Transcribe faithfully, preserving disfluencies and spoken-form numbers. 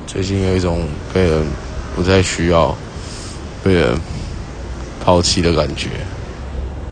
最近有一种被人不再需要、被人抛弃的感觉。